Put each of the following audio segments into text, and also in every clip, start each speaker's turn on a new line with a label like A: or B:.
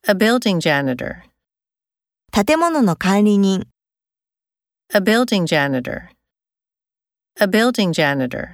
A: A building janitor.
B: 建物の管理人。
A: A building janitor. A building janitor.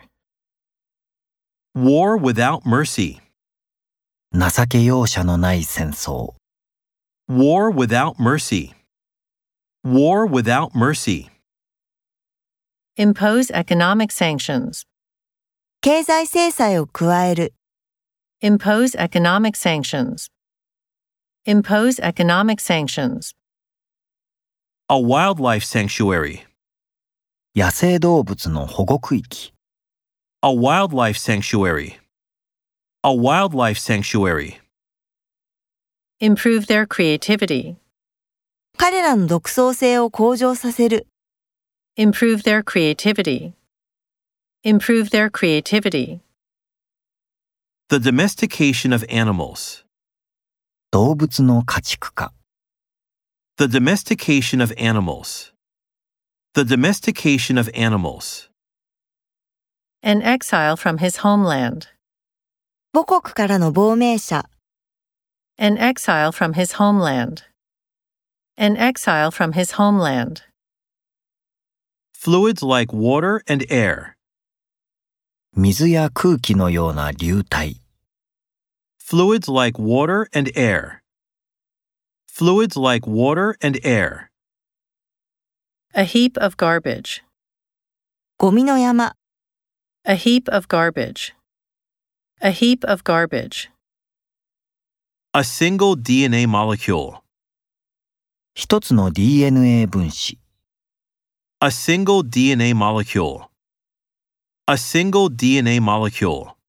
C: War without mercy.
D: 情け容赦のない戦争。
C: War without mercy. War without mercy.
A: Impose economic sanctions.
B: 経済制裁を加える。
A: Impose economic sanctions. Impose economic sanctions.
C: A wildlife sanctuary.
D: 野生動物の保護区域。
C: A wildlife sanctuary. A wildlife sanctuary.
A: Improve their creativity.
B: 彼らの独創性を向上させる。
A: Improve their creativity. Improve their creativity.
C: The domestication of animals.
D: 動物の家畜化。
C: The domestication of animals. The domestication of animals.
A: An exile from his homeland.
B: 母国からの亡命者。
A: An exile from his homeland. An exile from his homeland.
C: Fluids like water and air.
D: 水や空気のような流体。
C: Fluids like water and air. Fluids like water and air.
A: A heap of garbage.
B: ゴミの山。
A: A heap of garbage. A heap of garbage.
C: A single DNA molecule.
D: 一つの DNA 分子。
C: A single DNA molecule. A single DNA molecule.